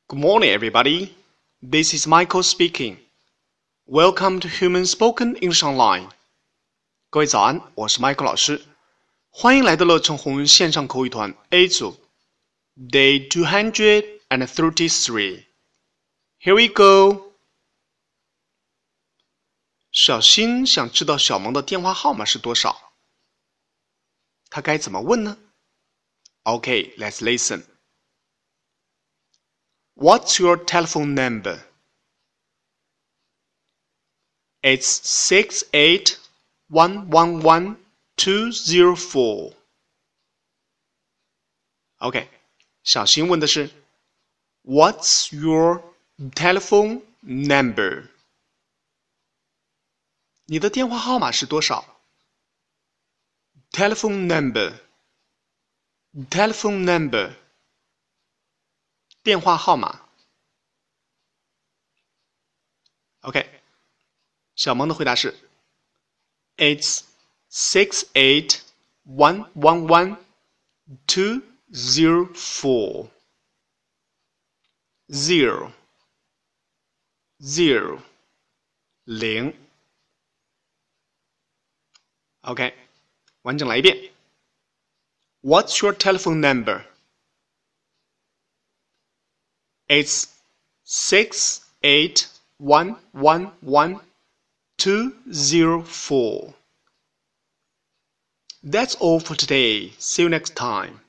Good morning, everybody. This is Michael speaking. Welcome to Human Spoken English Online. 各位早安，我是 Michael 老师，欢迎来到乐成红线上口语团 A 组 Day 233. Here we go. 小新想知道小萌的电话号码是多少，他该怎么问呢？ Okay, let's listen. What's your telephone number? It's 68111204. OK, 小新问的是 What's your telephone number? 你的电话号码是多少？ Telephone number. Telephone number. 电话号码。OK， 小萌的回答是 It's 68111204. 0 0 OK， 完整来一遍。What's your telephone number? It's 68111204. That's all for today. See you next time.